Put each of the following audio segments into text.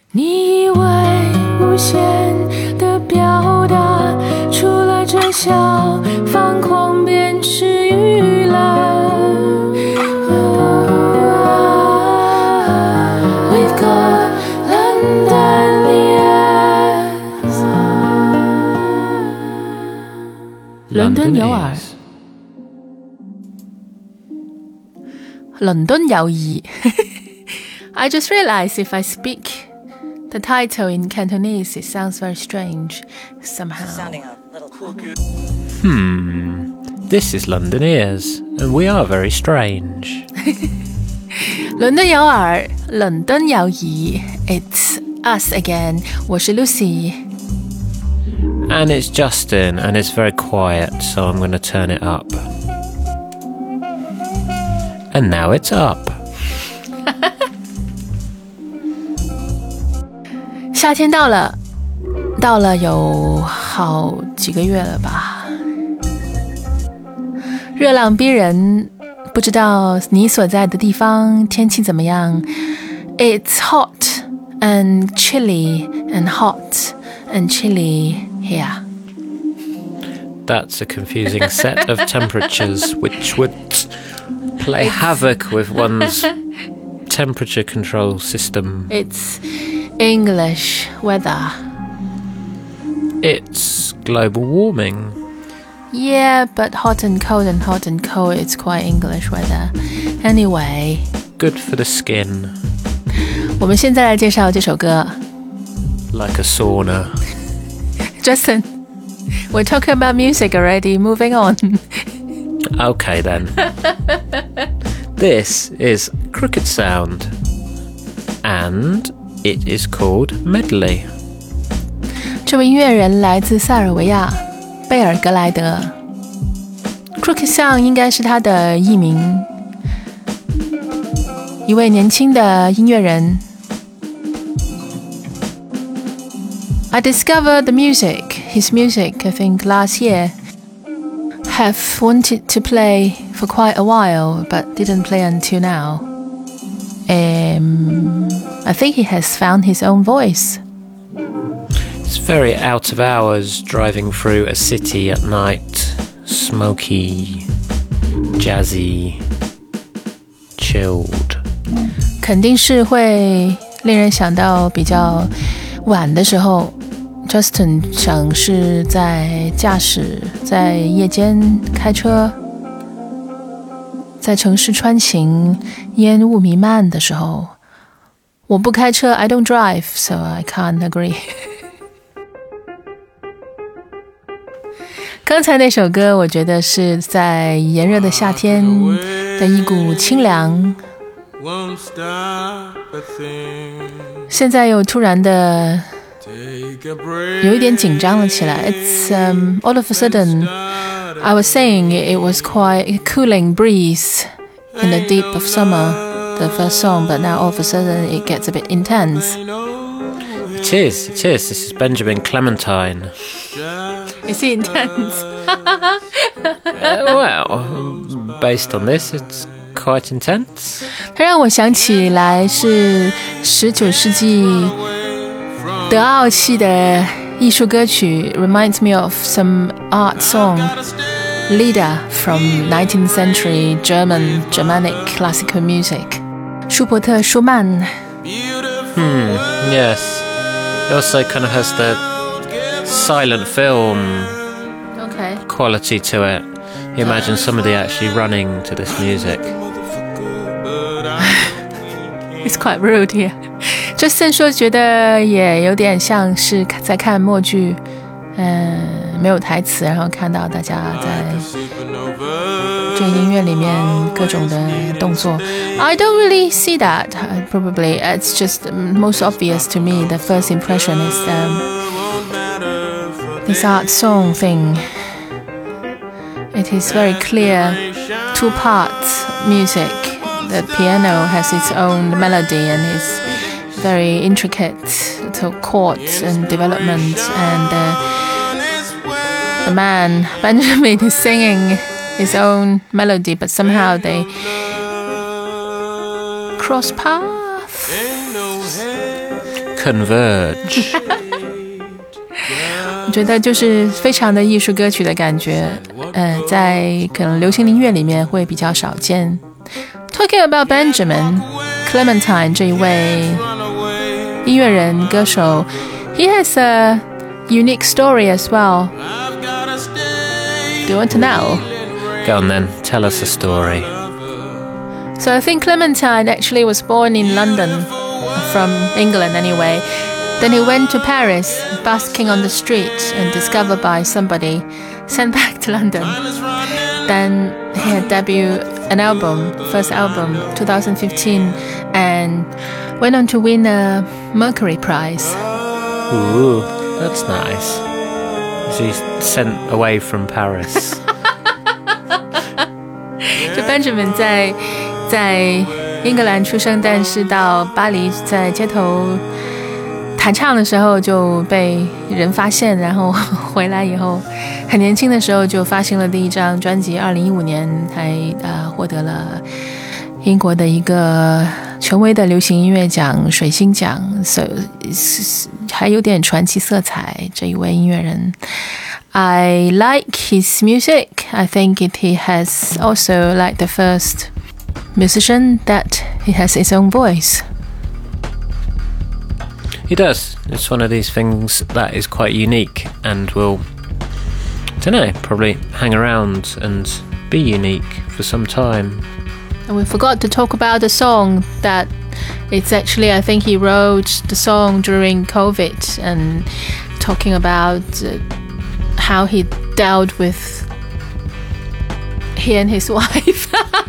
你以为无限的表达，除了这小方框便是娱乐。We've got London ears。 伦敦有耳，伦敦有耳。I just realized if I speak the title in Cantonese, it sounds very strange somehow. Sounding a little crooked. This is London Ears, and we are very strange. 伦敦有耳，伦敦有耳。It's us again. 我是 Lucy. And it's Justin, and it's very quiet, so I'm going to turn it up. And now it's up. 夏天到了有好几个月了吧，热浪逼人，不知道你所在的地方天气怎么样。 It's hot and chilly and hot and chilly here. That's a confusing set of temperatures which would play havoc with one's temperature control system. It's English weather. It's global warming. Yeah, but hot and cold, it's quite English weather. Anyway, Good for the skin. 我们现在来介绍这首歌。 Like a sauna. Justin, we're talking about music already. Moving on. Okay then. This is Crooked Sound. And it is called Medley. 这位音乐人来自塞尔维亚贝尔格莱德。Crooked Sound 应该是他的艺名，一位年轻的音乐人。I discovered his music, I think last year. Have wanted to play for quite a while, but didn't play until now. I think he has found his own voice. It's very out of hours driving through a city at night. Smoky, jazzy, chilled. 肯定是会令人想到比较晚的时候 Justin 想是在驾驶，在夜间开车，在城市穿行，烟雾弥漫的时候。我不开车 I don't drive, so I can't agree. 刚才那首歌我觉得是在炎热的夏天的一股清凉，现在又突然的有一点紧张了起来。 It's all of a sudden I was saying it was quite a cooling breeze in the deep of summer, the first song, but now all of a sudden it gets a bit intense. It is. This is Benjamin Clementine. Is it intense? Well, based on this, it's quite intense. 它让我想起来是19世纪德奥系的艺术歌曲 reminds me of some art song, Lieder from 19th century Germanic classical music. 舒伯特·舒曼。 Yes. It also kind of has the silent film Okay. quality to it. You imagine somebody actually running to this music. It's quite rude here. Justin 说觉得也有点像是在看默剧，没有台词，然后看到大家在这个音乐里面各种的动作。I don't really see that. Probably it's just most obvious to me. The first impression is this art song thing. It is very clear, two parts music. The piano has its own melody and is very intricate to chords and development, and the man Benjamin is singing his own melody, but somehow they cross paths. converge. 我觉得就是非常的艺术歌曲的感觉，在可能流行音乐里面会比较少见。Talking about Benjamin Clementine 这一位音乐人歌手 he has a unique story as well. Do you want to know? Go on then, tell us a story. So I think Clementine actually was born in London, from England anyway. Then he went to Paris, busking on the street and discovered by somebody, sent back to London. Then he had debuted an album, first album, 2015, and went on to win a Mercury Prize. Ooh, that's nice. So he's sent away from Paris. 就 Benjamin 在英格兰出生，但是到巴黎在街头弹唱的时候就被人发现，然后回来以后很年轻的时候就发行了第一张专辑，2015年还获得了英国的一个权威的流行音乐奖水星奖，所以还有点传奇色彩。这一位音乐人 I like his music. I think he has also like the first musician that he has his own voice. He does. It's one of these things that is quite unique and will, I don't know, probably hang around and be unique for some time. And we forgot to talk about the song that it's actually, I think he wrote the song during COVID and talking about how he dealt with he and his wife.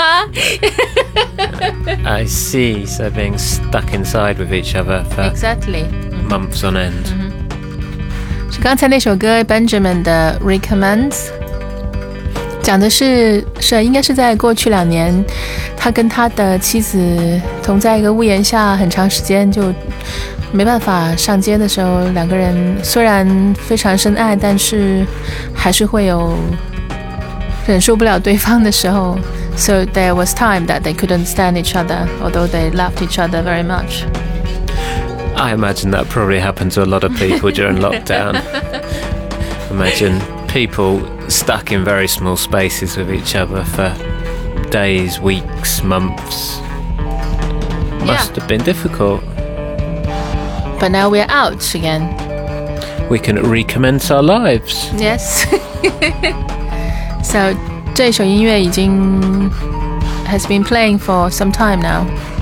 I see. So being stuck inside with each other for Exactly. months on end. 是刚才那首歌 Benjamin 的 Recommends， 讲的是应该是在过去2年，他跟他的妻子同在一个屋檐下很长时间，就没办法上街的时候，两个人虽然非常深爱，但是还是会有忍受不了对方的时候。So there was time that they couldn't stand each other, although they loved each other very much. I imagine that probably happened to a lot of people during lockdown. Imagine people stuck in very small spaces with each other for days, weeks, months. Must have been difficult. But now we're out again. We can recommence our lives. Yes. So 这首音乐已经 has been playing for some time now.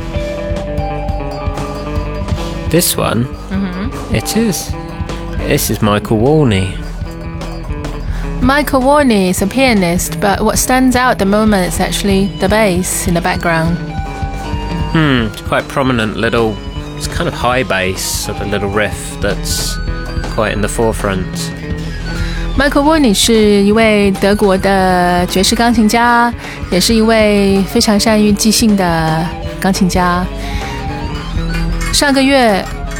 This one? It is. This is Michael Warney. Michael Warney is a pianist, but what stands out at the moment is actually the bass in the background. It's quite prominent little, it's kind of high bass, sort of little riff that's quite in the forefront. Michael Warney 是一位德国的爵士钢琴家，也是一位非常善于即兴的钢琴家。上个月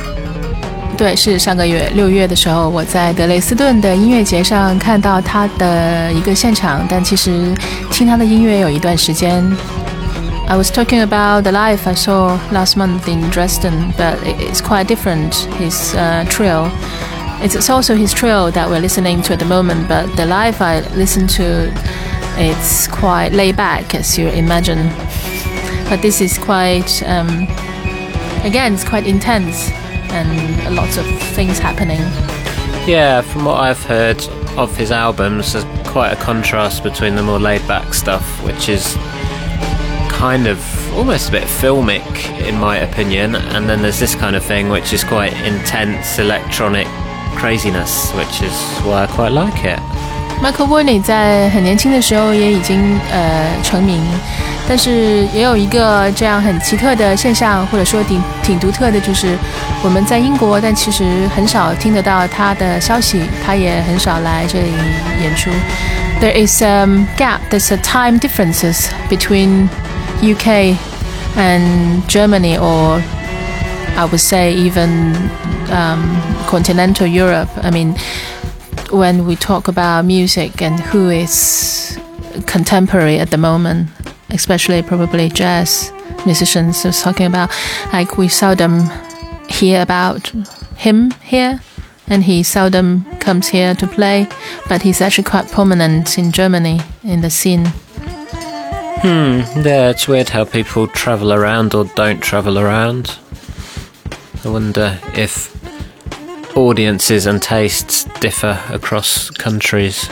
6月的时候，我在德累斯顿的音乐节上看到他的一个现场，但其实听他的音乐有一段时间。I was talking about the live I saw last month in Dresden, but it's quite different. His trio. It's also his trio that we're listening to at the moment, but the live I listened to, it's quite laid back, as you imagine. But this is quite, again, it's quite intense and lots of things happening. Yeah, from what I've heard of his albums, there's quite a contrast between the more laid-back stuff, which is kind of almost a bit filmic, in my opinion, and then there's this kind of thing which is quite intense electronic craziness, which is why I quite like it. Michael Warney 在很年轻的时候也已经成名，但是也有一个这样很奇特的现象，或者说挺独特的，就是我们在英国，但其实很少听得到他的消息，他也很少来这里演出。There is a gap, there's a time differences between UK and Germany, or I would say even continental Europe. I mean, when we talk about music and who is contemporary at the moment, especially probably jazz musicians, I was talking about, like, we seldom hear about him here, and he seldom comes here to play, but he's actually quite prominent in Germany in the scene. Yeah, it's weird how people travel around or don't travel around. I wonder if audiences and tastes differ across countries.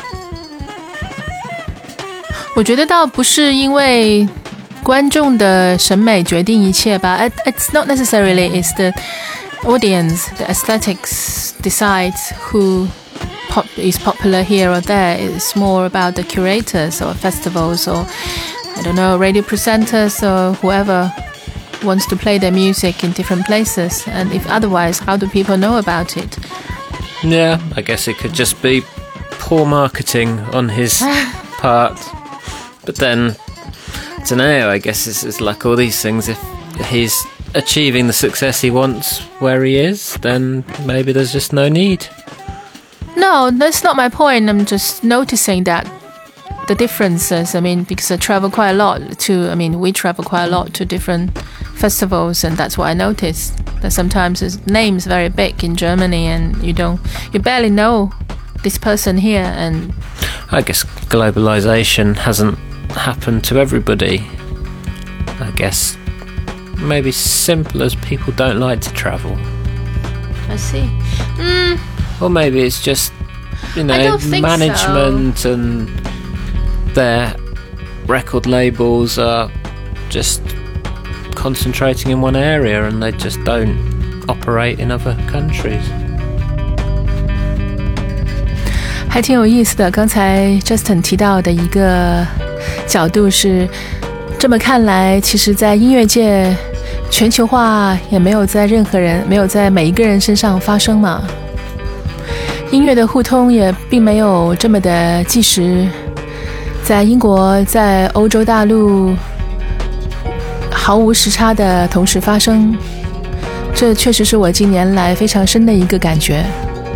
我觉得倒不是因为观众的审美决定一切吧。It's not necessarily it's the audience, the aesthetics decides who is popular here or there. It's more about the curators or festivals or, I don't know, radio presenters or whoever wants to play their music in different places. And if otherwise, how do people know about it? Yeah, I guess it could just be poor marketing on his part. But then, I don't know, I guess it's like all these things. If he's achieving the success he wants where he is, then maybe there's just no need. No, that's not my point. I'm just noticing that the differences. I mean, because I travel quite a lot we travel quite a lot to different festivals, and that's what I noticed. That sometimes his name's very big in Germany, and you barely know this person here. And I guess globalization hasn't happened to everybody. I guess maybe simple as people don't like to travel. I see. Or maybe it's just, management so. And their record labels are just concentrating in one area and they just don't operate in other countries. 还挺有意思的，刚才 Justin 提到的一个角度是，这么看来，其实在音乐界全球化也没有在每一个人身上发生嘛。音乐的互通也并没有这么的即时，在英国，在欧洲大陆毫无时差的同时发生，这确实是我近年来非常深的一个感觉。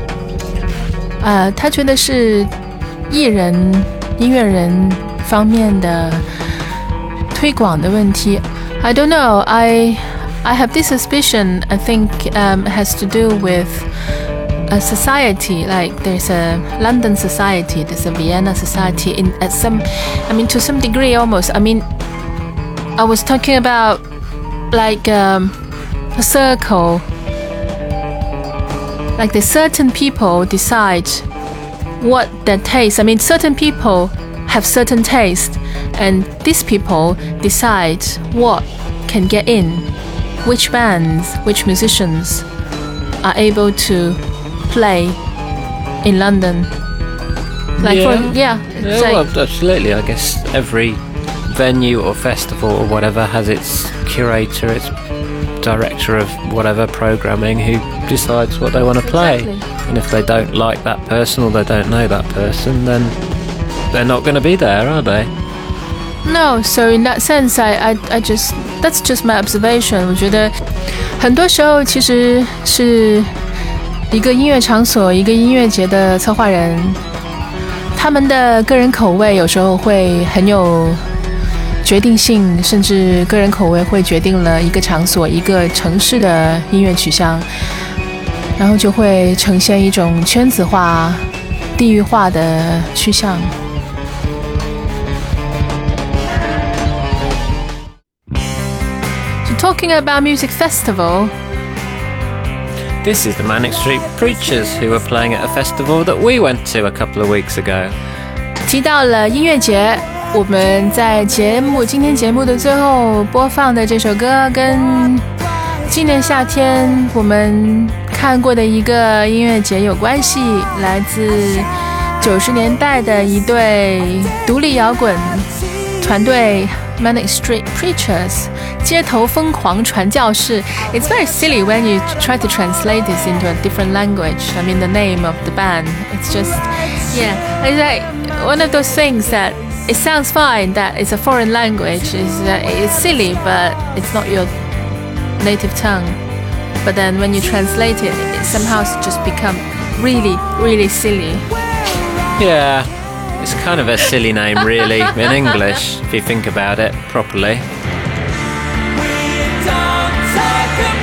他觉得是艺人、音乐人方面的推广的问题。I don't know. I have this suspicion. I think it has to do with a society. Like there's a London society, there's a Vienna society. To some degree, almost. I mean, I was talking about like a circle. Like the certain people decide what their taste. I mean, certain people have certain taste, and these people decide what can get in, which bands, which musicians are able to play in London. Well, absolutely. I guess every venue or festival or whatever has its curator, its director of whatever programming who decides what they want to play. Exactly. And if they don't like that person or they don't know that person, then they're not going to be there, are they? No, so in that sense, I just that's just my observation. 我觉得很多时候其实是一个音乐场所、一个音乐节的策划人，他们的个人口味有时候会很有决定性，甚至个人口味会决定了一个场所、一个城市的音乐取向，然后就会呈现一种圈子化、地域化的趋向。So talking about music festival. This is the Manic Street Preachers who were playing at a festival that we went to a couple of weeks ago. 提到了音乐节，我们在今天节目的最后播放的这首歌，跟今年夏天我们看过的一个音乐节有关系，来自90年代的一对独立摇滚团队 Manic Street Preachers 街头疯狂传教士。 It's very silly when you try to translate this into a different language. I mean the name of the band, it's just it's like one of those things that it sounds fine that it's a foreign language. It's silly, but it's not your native tongue. But then when you translate it, it somehow just become really, really silly. Yeah, it's kind of a silly name really in English if you think about it properly. We don't talk about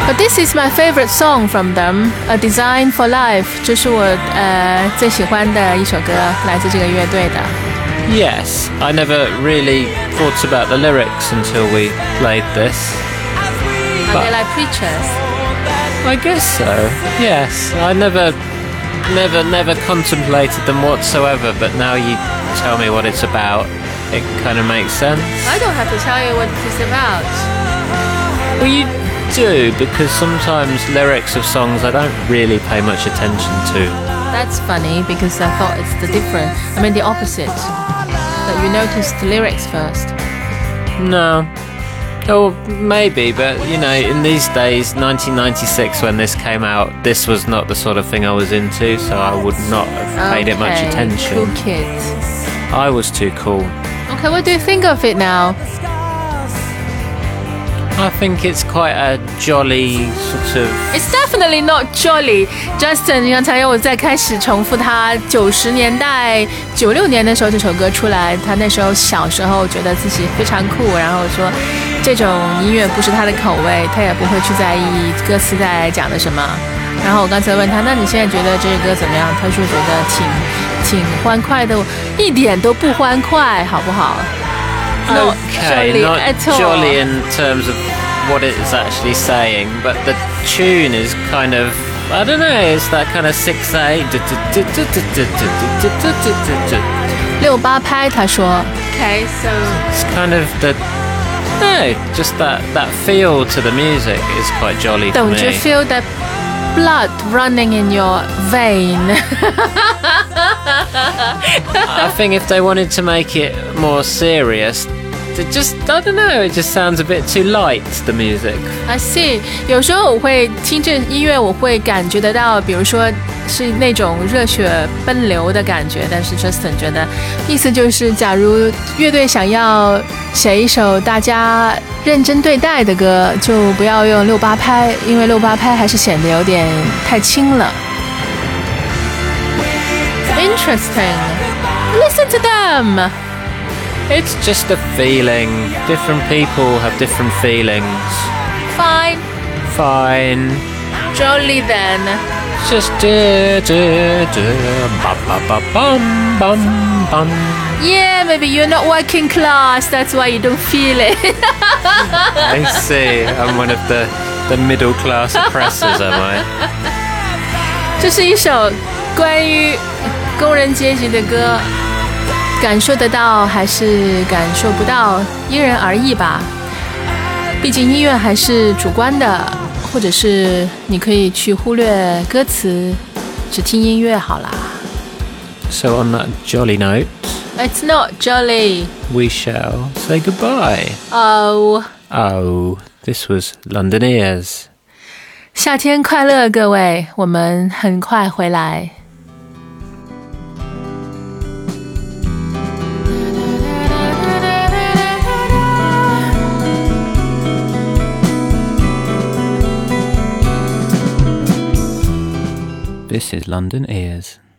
But this is my favorite song from them, A Design for Life. 这是我最喜欢的一首歌，来自这个乐队的。 Yes, I never really thought about the lyrics until we played this. Are they like preachers? I guess so. Yes, I never contemplated them whatsoever, but now you tell me what it's about, it kind of makes sense. I don't have to tell you what it's about. Well, you do, because sometimes lyrics of songs I don't really pay much attention to. That's funny because I thought it's the opposite. That you noticed the lyrics first. No. Oh, maybe, but you know, in these days, 1996 when this came out, this was not the sort of thing I was into, so I would not have paid it much attention. Cool kids. I was too cool. Okay, what do you think of it now? I think it's quite a jolly sort of... It's definitely not jolly. Justin 刚才又再开始重复他90年代96年的时候这首歌出来，他那时候小时候觉得自己非常酷，然后说这种音乐不是他的口味，他也不会去在意歌词在讲的什么。然后我刚才问他，那你现在觉得这个歌怎么样？他说觉得挺欢快的，一点都不欢快，好不好？Not Okay, jolly not at all. jolly in terms of what it's actually saying, but the tune is kind of, I don't know, it's that kind of 6/8. 68拍，他说。Okay, so It's kind of just that feel to the music is quite jolly for me. don't you feel that blood running in your vein? I think if they wanted to make it more serious, I don't know, it just sounds a bit too light, the music. I see. 有时候我会听这音乐，我会感觉得到，比如说是那种热血奔流的感觉。但是 Justin 觉得，意思就是，假如乐队想要写一首大家认真对待的歌，就不要用68拍，因为68拍还是显得有点太轻了。Interesting. Listen to them. It's just a feeling. Different people have different feelings. Fine. Fine. Jolly then. Just bum bum bum. Yeah, maybe you're not working class. That's why you don't feel it. I see. I'm one of the middle class oppressors, am I? 这是一首关于工人阶级的歌，感受得到还是感受不到，因人而异吧。毕竟音乐还是主观的，或者是你可以去忽略歌詞，只聽音樂好啦。 So on that jolly note, It's not jolly. we shall say goodbye. Oh. Oh, this was London Ears. 夏天快樂，各位，我們很快回來。 This is London Ears.